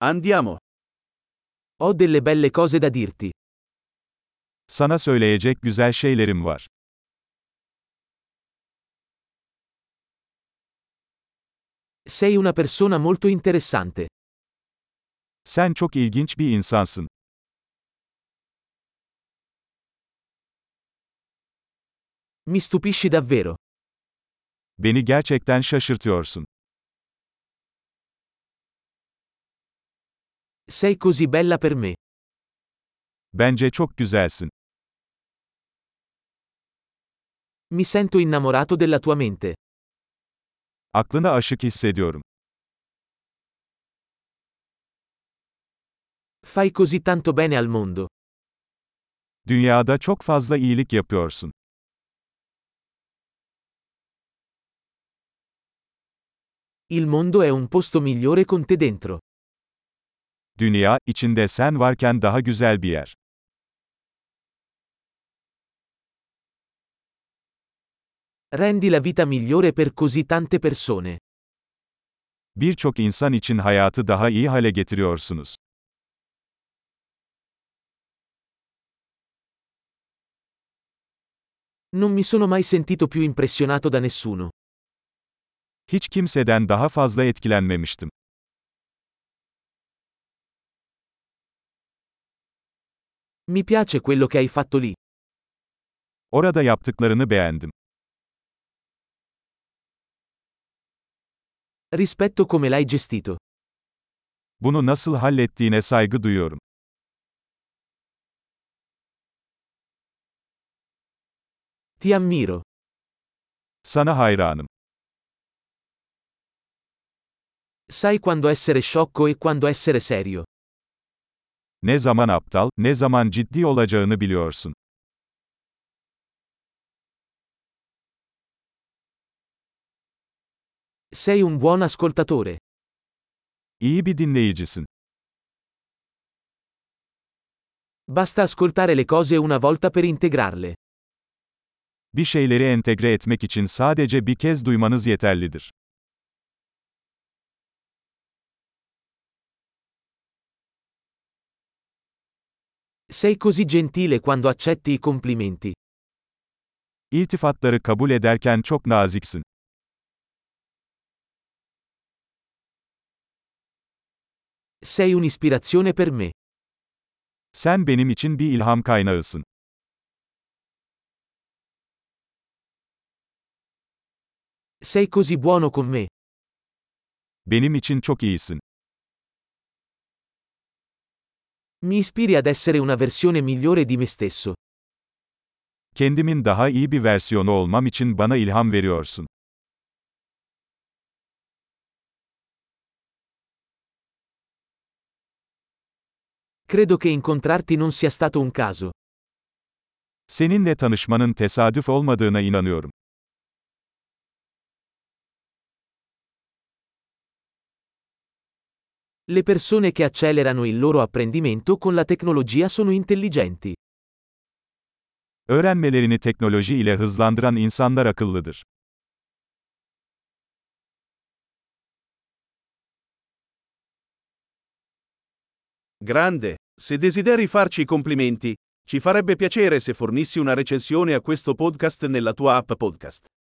Andiamo. Ho delle belle cose da dirti. Sana söyleyecek güzel şeylerim var. Sei una persona molto interessante. Sen çok ilginç bir insansın. Mi stupisci davvero. Beni gerçekten şaşırtıyorsun. Sei così bella per me. Bence çok güzelsin. Mi sento innamorato della tua mente. Aklına aşık hissediyorum. Fai così tanto bene al mondo. Dünyada çok fazla iyilik yapıyorsun. Il mondo è un posto migliore con te dentro. Dünya, içinde sen varken daha güzel bir yer. Rendi la vita migliore per così tante persone. Birçok insan için hayatı daha iyi hale getiriyorsunuz. Non mi sono mai sentito più impressionato da nessuno. Hiç kimseden daha fazla etkilenmemiştim. Mi piace quello che hai fatto lì. Orada yaptıklarını beğendim. Rispetto come l'hai gestito. Bunu nasıl hallettiğine saygı duyuyorum. Ti ammiro. Sana hayranım. Sai quando essere sciocco e quando essere serio. Ne zaman aptal, ne zaman ciddi olacağını biliyorsun. Sei un buon ascoltatore. İyi bir dinleyicisin. Basta ascoltare le cose una volta per integrarle. Bir şeyleri entegre etmek için sadece bir kez duymanız yeterlidir. Sei così gentile quando accetti i complimenti. İltifatları kabul ederken çok naziksin. Sei un'ispirazione per me. Sen benim için bir ilham kaynağısın. Sei così buono con me. Benim için çok iyisin. Mi ispiri ad essere una versione migliore di me stesso. Kendimin daha iyi bir versiyonu olmam için bana ilham veriyorsun. Credo che incontrarti non sia stato un caso. Seninle tanışmanın tesadüf olmadığına inanıyorum. Le persone che accelerano il loro apprendimento con la tecnologia sono intelligenti. Öğrenmelerini teknoloji ile hızlandıran insanlar akıllıdır. Grande. Se desideri farci i complimenti, ci farebbe piacere se fornissi una recensione a questo podcast nella tua app podcast.